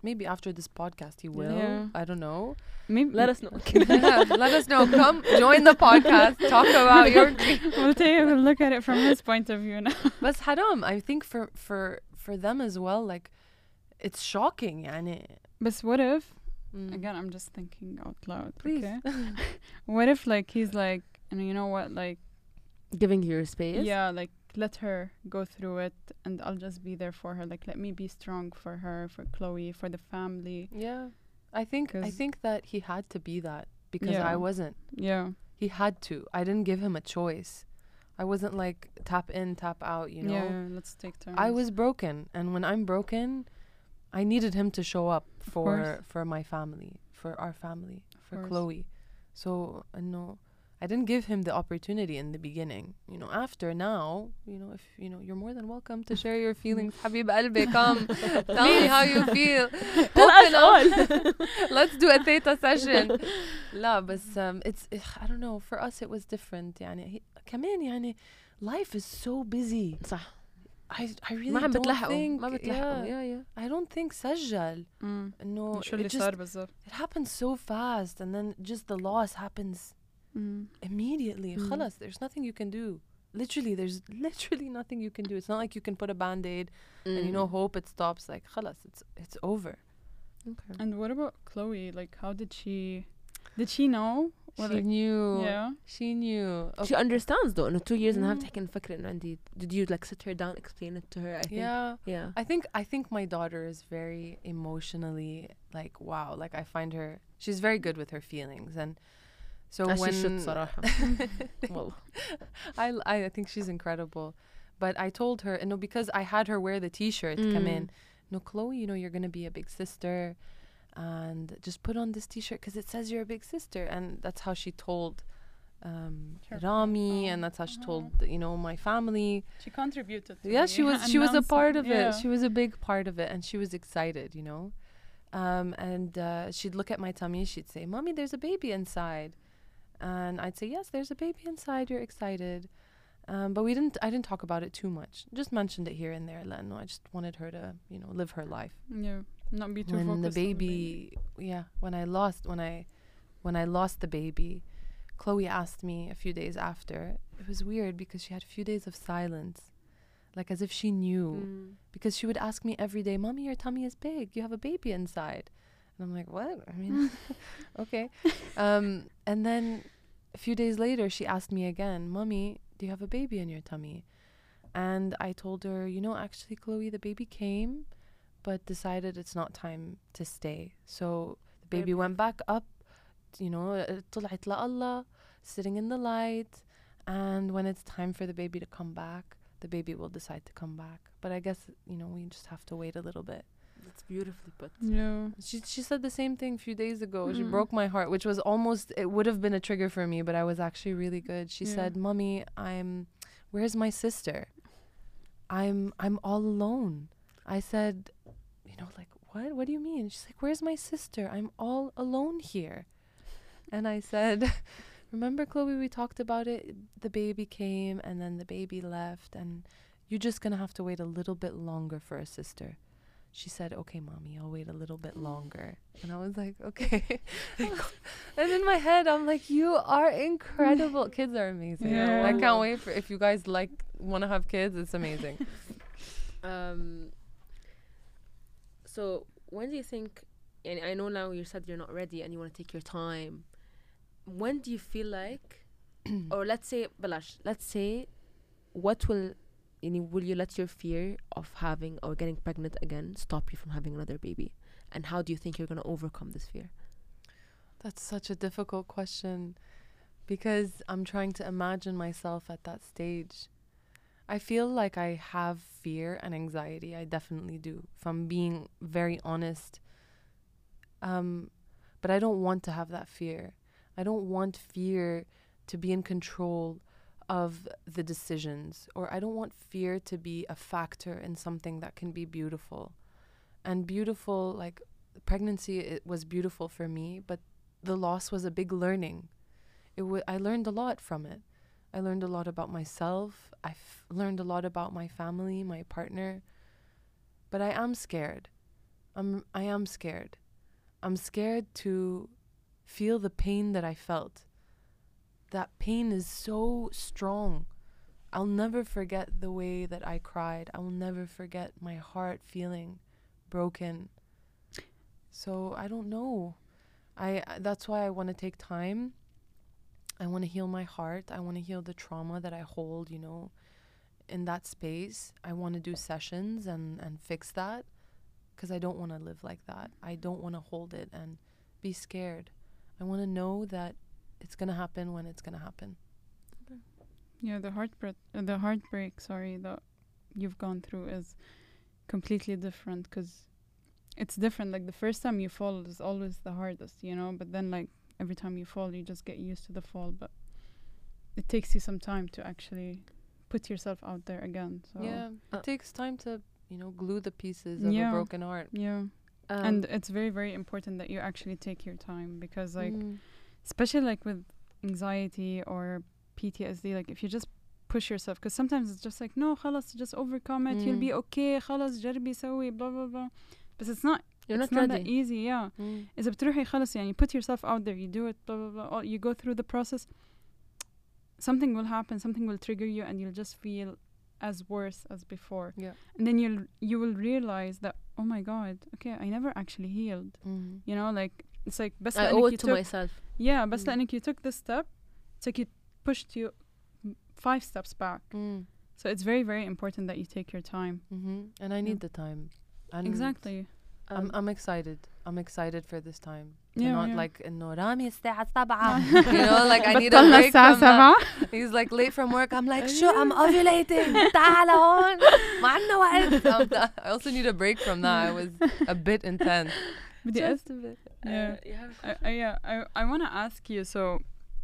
Maybe after this podcast he will. Yeah. I don't know. Maybe Let us know. Let us know. Come join the podcast. Talk about your dream. we'll look at it from his point of view now. But haram, I think for them as well, like it's shocking. يعني. But what if, Mm. again, I'm just thinking out loud. Please. Okay? What if like he's like, and you know what, like, Giving you your space. yeah, like let her go through it, and I'll just be there for her. Like let me be strong for her, for Chloe, for the family. Yeah. I think 'Cause- that he had to be that because Yeah. I wasn't. Yeah. He had to. I didn't give him a choice. I wasn't like tap in, tap out, you know. Yeah. Let's take turns. I was broken, and when I'm broken, I needed him to show up course. for my family, for our family, for course. Chloe. So no, I didn't give him the opportunity in the beginning. You know, after now, you know, if you know, you're more than welcome to share your feelings. Habib Albi, come, tell me how you feel. Open up. Let's do a theta session. لا بس it's I don't know. For us, it was different. يعني كمان يعني life is so busy. صح. I really ما عم don't بتلحقوا. think. ما بتلحقوا. Yeah. I don't think سجل. No, شو اللي it just صار بالضبط؟ it happens so fast, and then just the loss happens immediately. خلاص, there's nothing you can do. There's literally nothing you can do. It's not like you can put a band-aid and you know hope it stops. Like خلاص, it's over. Okay. And what about Chloe? Like, how did she know? Or She like, knew. yeah. She knew. She understands though. إنه 2 years and a half Mm. تحكي نفكر إنه عندي. Did you like sit her down, explain it to her? I think. Yeah. Yeah. I think my daughter is very emotionally like wow. Like I find her. She's very good with her feelings, and so As she when should صراحة. والله. I think she's incredible. But I told her, you know, because I had her wear the T-shirt, come in. No, Chloe, you know, you're going to be a big sister. And just put on this T-shirt because it says you're a big sister. And that's how she told Rami. And that's how she told, you know, my family. She contributed to Yeah, the she was a part of announcement. it. Yeah. She was a big part of it. And she was excited, you know. And she'd look at my tummy. She'd say, Mommy, there's a baby inside. And I'd say, yes, there's a baby inside. You're excited. But I didn't talk about it too much. Just mentioned it here and there. No, I just wanted her to, you know, live her life. Yeah. Not be too When focused the on baby, yeah, when I lost the baby, Chloe asked me a few days after. It was weird because she had a few days of silence, like as if she knew. Because she would ask me every day, Mommy, your tummy is big. You have a baby inside. And I'm like, what? I mean, okay. And then a few days later, she asked me again, Mommy, do you have a baby in your tummy? And I told her, you know, actually, Chloe, the baby came, but decided it's not time to stay. So the baby went back up, you know, طلعت لله, sitting in the light. And when it's time for the baby to come back, the baby will decide to come back. But I guess, you know, we just have to wait a little bit. That's beautifully put. Yeah. She said the same thing a few days ago. She broke my heart, which was almost, it would have been a trigger for me, but I was actually really good. She said, Mommy, where's my sister? I'm all alone. I said, you know, like, what? What do you mean? She's like, where's my sister? I'm all alone here. And I said, remember, Chloe, we talked about it. The baby came and then the baby left, and you're just going to have to wait a little bit longer for a sister. She said, okay, Mommy, I'll wait a little bit longer. And I was like, okay. And in my head, I'm like, you are incredible. Kids are amazing. Yeah. I can't wait for, if you guys want to have kids, it's amazing. So when do you think, and I know now you said you're not ready and you want to take your time, when do you feel like, or let's say what will you let your fear of having or getting pregnant again stop you from having another baby? And how do you think you're going to overcome this fear? That's such a difficult question because I'm trying to imagine myself at that stage. I feel like I have fear and anxiety. I definitely do, if I'm being very honest. But I don't want to have that fear. I don't want fear to be in control of the decisions, or I don't want fear to be a factor in something that can be beautiful. And beautiful, like pregnancy, it was beautiful for me, but the loss was a big learning. I learned a lot from it. I learned a lot about myself. I've learned a lot about my family, my partner. But I am scared. I am scared. I'm scared to feel the pain that I felt. That pain is so strong. I'll never forget the way that I cried. I will never forget my heart feeling broken. So I don't know. That's why I want to take time. I want to heal my heart. I want to heal the trauma that I hold, you know, in that space. I want to do sessions and fix that, because I don't want to live like that. I don't want to hold it and be scared. I want to know that it's going to happen when it's going to happen. Yeah, the heartbreak, that you've gone through is completely different, because it's different. Like, the first time you fall is always the hardest, you know, but then, like, every time you fall, you just get used to the fall. But it takes you some time to actually put yourself out there again. So Yeah, it takes time to, you know, glue the pieces of a broken heart. Yeah. And it's very, very important that you actually take your time, because, like, especially, like, with anxiety or PTSD, like, if you just push yourself, because sometimes it's just like, no, خلاص, just overcome it, you'll be okay, خلاص جربي سوي blah blah blah. But it's not. You're it's not not ready. that easy. Yeah. إذا بتروحي خلاص يعني put yourself out there, you do it, blah blah blah. You go through the process. Something will happen. Something will trigger you, and you'll just feel as worse as before. Yeah. And then you will realize that, oh my God, okay, I never actually healed. You know, like, it's like بس I لأنك owe you it to took- myself. Yeah, بس لأنك you took this step, it's like you pushed you 5 steps back. So it's very, very important that you take your time. And I need the time. And Exactly. I'm excited. I'm excited for this time. Yeah, Not yeah. like إنه رامي الساعة 7. You know, like I need a بطلنا break الساعة from that. 7. He's like late from work. I'm like, شو I'm ovulating. تعال هون. ما عندنا وقت. I also need a break from that. I was a bit intense. بدي Just a bit. Yeah. You have I want to ask you, so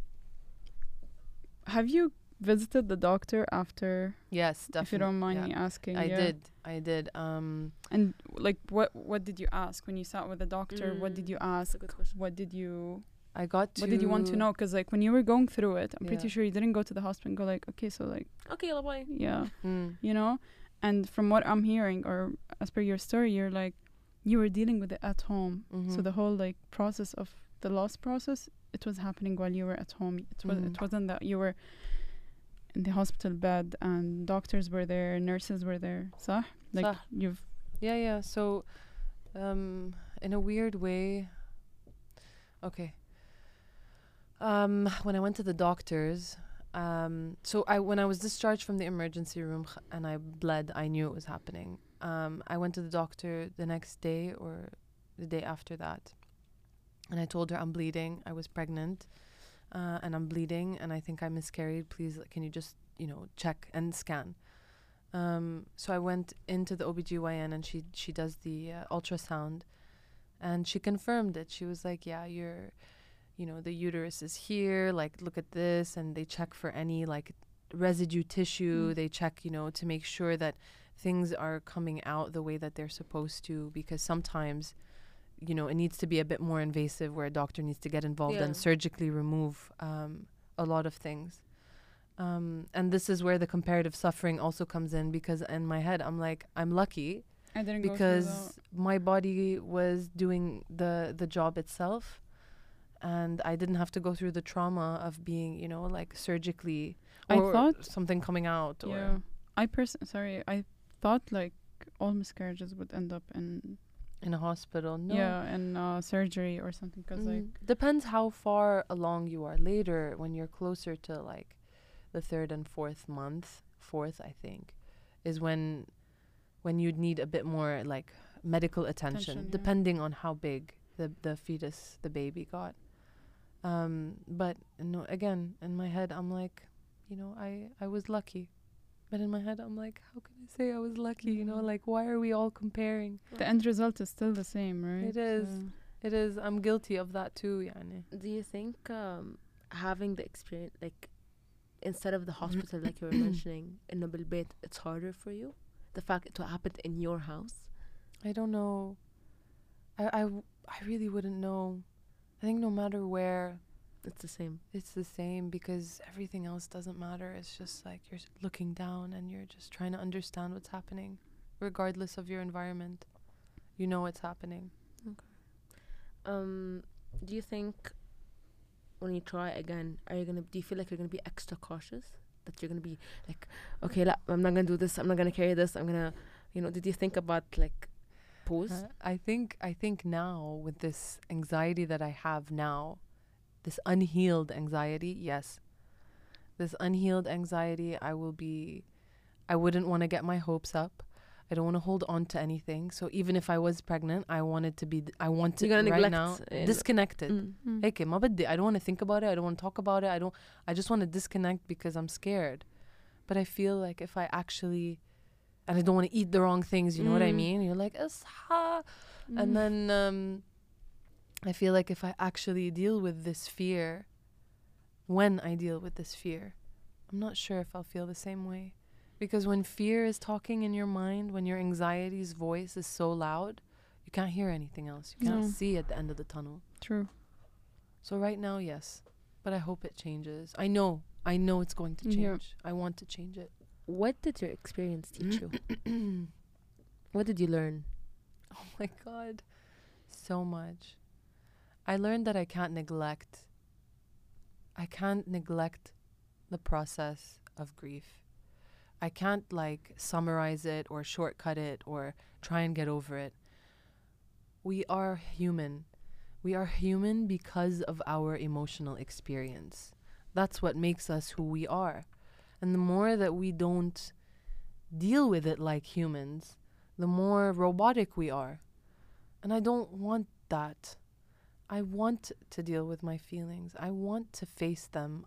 have you visited the doctor after, Yes, definitely. if you don't mind yeah. me asking? I Yeah. did. And, like, what did you ask when you sat with the doctor? What did you ask? That's a good question. What did you I got to. What did you want to know? Because, like, when you were going through it, I'm pretty Yeah. sure you didn't go to the hospital and go like, okay, so, like, Okay, bye. yeah, Mm. you know. And from what I'm hearing, or as per your story, you're like, you were dealing with it at home. So the whole, like, process of the loss process, it was happening while you were at home. It wasn't that you were in the hospital bed and doctors were there, nurses were there. صح? Like, صح. you've Yeah. So, in a weird way, okay. When I went to the doctors, when I was discharged from the emergency room and I bled, I knew it was happening. I went to the doctor the next day or the day after that, and I told her I'm bleeding. I was pregnant, and I'm bleeding, and I think I miscarried. Please, can you just, you know, check and scan? So I went into the OBGYN, and she does the ultrasound, and she confirmed it. She was like, yeah, you know, the uterus is here, like, look at this. And they check for any, like, residue tissue. They check, you know, to make sure that things are coming out the way that they're supposed to, because sometimes, you know, it needs to be a bit more invasive, where a doctor needs to get involved and surgically remove a lot of things. And this is where the comparative suffering also comes in, because in my head, I'm like, I'm lucky I didn't because go through my body was doing the job itself, and I didn't have to go through the trauma of being, you know, like, surgically, I or thought something coming out. that. Or Yeah. I thought, like, all miscarriages would end up in in a hospital. No. in surgery or something, because like, Depends how far along you are. Later, when you're closer to, like, the 3rd and 4th month, 4th, I think, is when you'd need a bit more, like, medical attention, yeah. depending on how big the fetus, the baby got. But no, again, in my head, I'm like, you know, I was lucky. But in my head, I'm like, how can I say I was lucky? You know, like, why are we all comparing? the end result is still the same, right? It is. It is. I'm guilty of that too, yani. Do you think having the experience, like, instead of the hospital, like you were mentioning, in بالبيت, it's harder for you? The fact it happened in your house? I don't know. I really wouldn't know. I think no matter where, It's the same. it's the same, because everything else doesn't matter. It's just like you're looking down and you're just trying to understand what's happening, regardless of your environment. you know it's happening. Do you think when you try again, do you feel like you're gonna be extra cautious? That you're gonna be like, okay, I'm not gonna do this. I'm not gonna carry this. I'm gonna, did you think about like pause? I think now with this anxiety that I have now, this unhealed anxiety, yes. This unhealed anxiety, I wouldn't want to get my hopes up. I don't want to hold on to anything. So even if I was pregnant, I want to You're gonna right neglect now disconnected. هيك ما بدي. I don't want to think about it. I don't want to talk about it. I just want to disconnect because I'm scared. But I feel like if I actually, and I don't want to eat the wrong things, you know what I mean? You're like, "Isha." And then I feel like if I actually deal with this fear, when I deal with this fear, I'm not sure if I'll feel the same way. Because when fear is talking in your mind, when your anxiety's voice is so loud, you can't hear anything else. You can't see at the end of the tunnel. True. So right now, yes. But I hope it changes. I know it's going to change. I want to change it. What did your experience teach you? What did you learn? Oh my God. So much. I learned that I can't neglect the process of grief. I can't like summarize it or shortcut it or try and get over it. We are human. We are human because of our emotional experience. That's what makes us who we are. And the more that we don't deal with it like humans, the more robotic we are. And I don't want that. I want to deal with my feelings. I want to face them.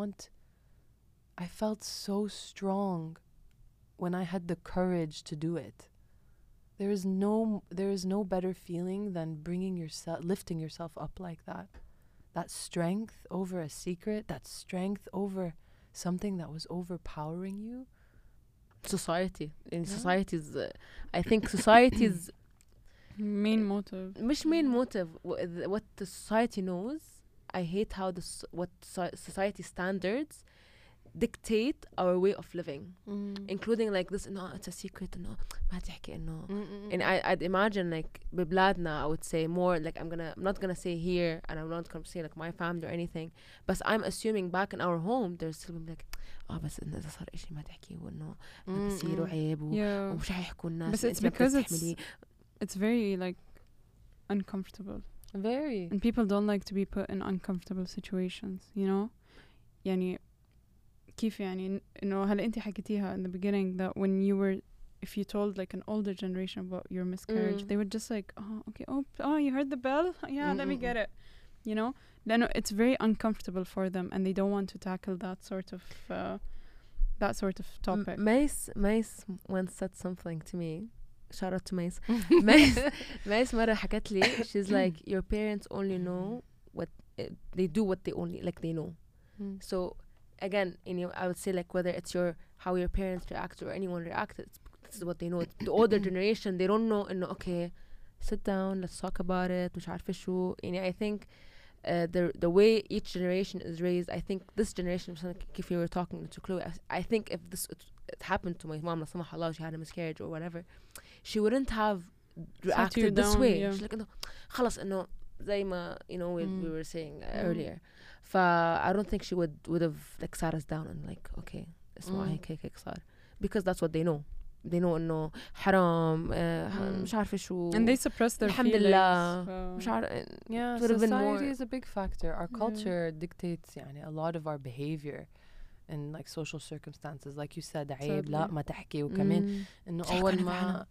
I felt so strong when I had the courage to do it. There is no better feeling than lifting yourself up like that. That strength over a secret, that strength over something that was overpowering you. Society. Society's, I think society's main motive. مش main motive. What the society knows. I hate how what society standards dictate our way of living, including like this. No, it's a secret. No, ما تحكي إنه. And I'd imagine like ببلادنا, I would say more like I'm not gonna say here, and I'm not gonna say like my family or anything. But I'm assuming back in our home, there's still like, بس إنه إذا صار إشي ما تحكي وإنه بصير وعيب ومش هيحكوا الناس. But it's because it's very like uncomfortable. Very. And people don't like to be put in uncomfortable situations, you know? يعني كيف يعني إنه هلا أنت حكيتيها in the beginning that when you were, if you told like an older generation about your miscarriage, they would just like, oh, okay, oh, you heard the bell? Yeah, let me get it. You know? لأنه it's very uncomfortable for them and they don't want to tackle that sort of topic. Mace once said something to me. Shout out to Mace. Mace مرة حكت لي, she's like, your parents only know what they do, what they only like they know. So again, I would say like whether it's how your parents react or anyone reacted, this is what they know. The older generation, they don't know. Okay, sit down, let's talk about it. مش عارفة شو. I think the way each generation is raised, I think this generation, if you were talking to Chloe, I think if it happened to my mom, لا سمح الله, she had a miscarriage or whatever, she wouldn't have reacted this way. She's like, no, خلاص إنه زي ما we were saying earlier. I don't think she would have like sat us down and like, okay, اسمع هيك صار, because that's what they know. They know إنه حرام, مش عارفة شو. And they suppress their الحمد feelings. لله. مش عارفة. Yeah, society is a big factor. Our culture dictates a lot of our behavior in like social circumstances. Like you said, عيب لا ما تحكي, وكمان إنه أول ما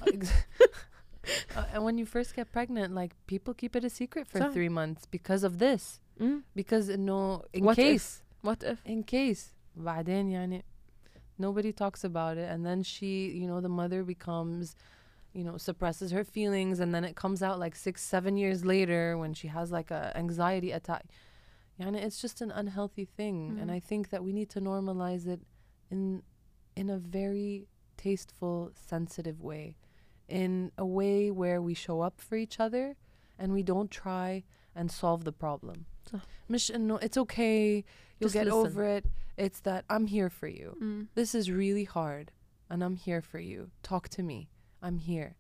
and when you first get pregnant, like people keep it a secret for 3 months because of this. Because no, what if in case بعدين nobody talks about it, and then she, the mother becomes, suppresses her feelings, and then it comes out like 6-7 years later when she has like a anxiety attack. It's just an unhealthy thing, and I think that we need to normalize it in a very tasteful, sensitive way, in a way where we show up for each other and we don't try and solve the problem. مش إنه it's okay, you'll get over it. It's that I'm here for you. This is really hard and I'm here for you. Talk to me. I'm here.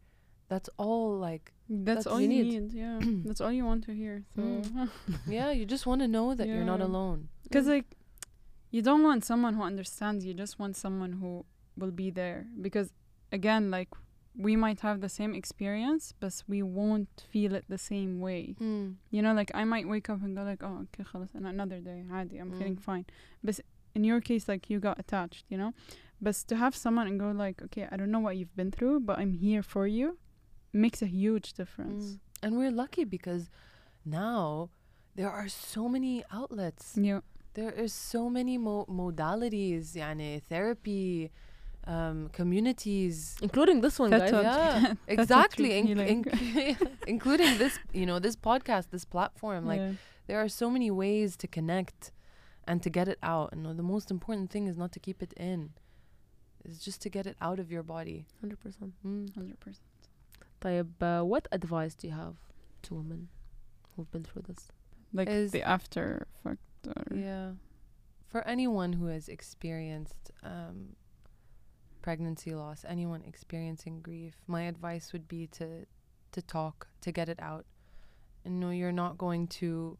That's all. Like, That's all you you need. need. Yeah. That's all you want to hear. So, yeah, you just want to know that you're not Yeah. alone. because like, you don't want someone who understands. You just want someone who will be there. Because again, like, we might have the same experience, but we won't feel it the same way. You know, like I might wake up and go like, oh, okay, خلاص, and another day, عادي, I'm feeling fine. But in your case, like you got attached, you know. But to have someone and go like, okay, I don't know what you've been through, but I'm here for you, makes a huge difference. And we're lucky because now there are so many outlets. Yeah, There is so many modalities, يعني therapy, communities. Including this one, guys. That's Yeah, a exactly. true healing. Including this, this podcast, this platform. Like, yeah. there are so many ways to connect and to get it out. And the most important thing is not to keep it in. It's just to get it out of your body. 100%. 100%. طيب, what advice do you have to women who've been through this? Like Is- the after factor. Yeah. For anyone who has experienced pregnancy loss, anyone experiencing grief, my advice would be to talk, to get it out. And no, you're not going to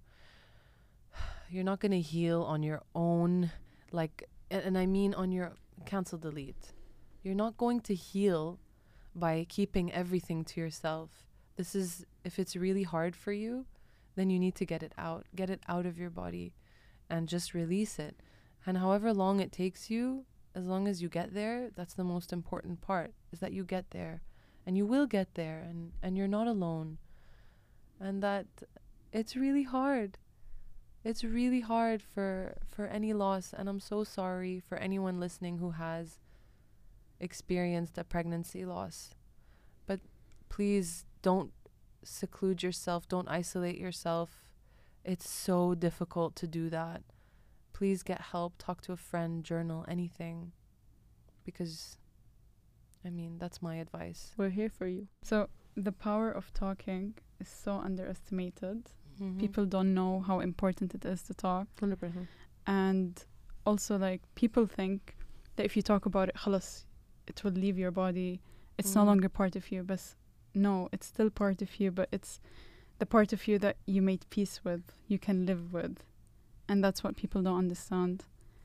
heal on your own, like, and I mean on your cancel delete. You're not going to heal by keeping everything to yourself. If it's really hard for you, then you need to get it out of your body and just release it. And however long it takes you, as long as you get there, that's the most important part, is that you get there. And you will get there, and you're not alone. And that it's really hard. It's really hard for any loss, and I'm so sorry for anyone listening who has experienced a pregnancy loss. But please don't seclude yourself, don't isolate yourself. It's so difficult to do that. Please get help, talk to a friend, journal, anything. Because, I mean, that's my advice. We're here for you. So the power of talking is so underestimated. Mm-hmm. People don't know how important it is to talk. 100%. And also, like, people think that if you talk about it, خلاص, it will leave your body. It's no longer part of you. But no, it's still part of you, but it's the part of you that you made peace with, you can live with. And that's what people don't understand.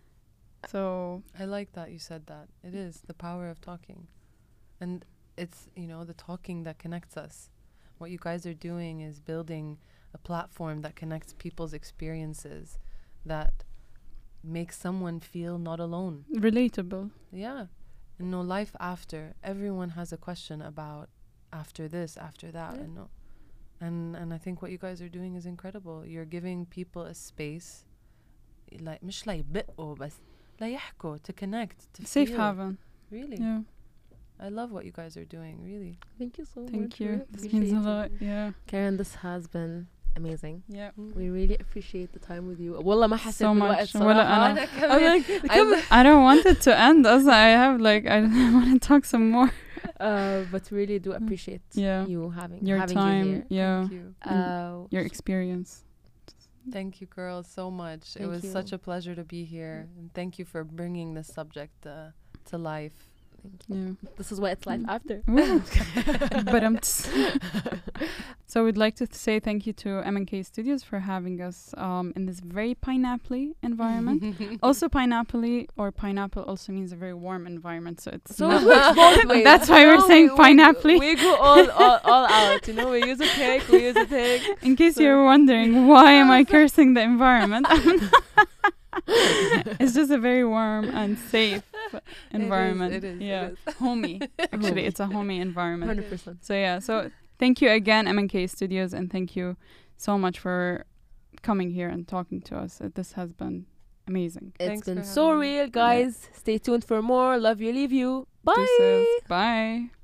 So I like that you said that. It is the power of talking. And it's, the talking that connects us. What you guys are doing is building a platform that connects people's experiences, that makes someone feel not alone. relatable. Yeah. And no life after. Everyone has a question about after this, after that. Yeah. And I think what you guys are doing is incredible. You're giving people a space, like مش لا يبقوا بس لا يحكوا, to connect, to Safe feel. haven. Really. Yeah. I love what you guys are doing, really. Thank you so much. Thank We you. This appreciate means a it. lot. Yeah. Karen, this has been amazing. Yeah. We really appreciate the time with you. والله ما حسيت So بالوقت much. ولا صراحة. أنا. I'm like, I don't want it to end. Also, I have like I want to talk some more. but really do appreciate Yeah. you having Your having time. you here. Yeah. Thank you. Your experience. Thank you, girls, so much. It Thank was you. such a pleasure to be here. And thank you for bringing this subject to life. Thank you. Yeah. This is what it's like after. But so we'd like to say thank you to M&K Studios for having us in this very pineapple environment. Also, pineapple also means a very warm environment. So it's So not- it works both ways. That's why we're saying pineapple. We go all out. We use a cake. We use a thing. In case you're wondering, why am I cursing the environment? It's just a very warm and safe environment. It is. Yeah. It is. Homey. Actually, it's a homey environment. 100%. So yeah, so thank you again, M&K Studios, and thank you so much for coming here and talking to us. This has been amazing. It's Thanks been for so having me. real, guys. Stay tuned for more. Love you, leave you. Bye. Deuces. Bye.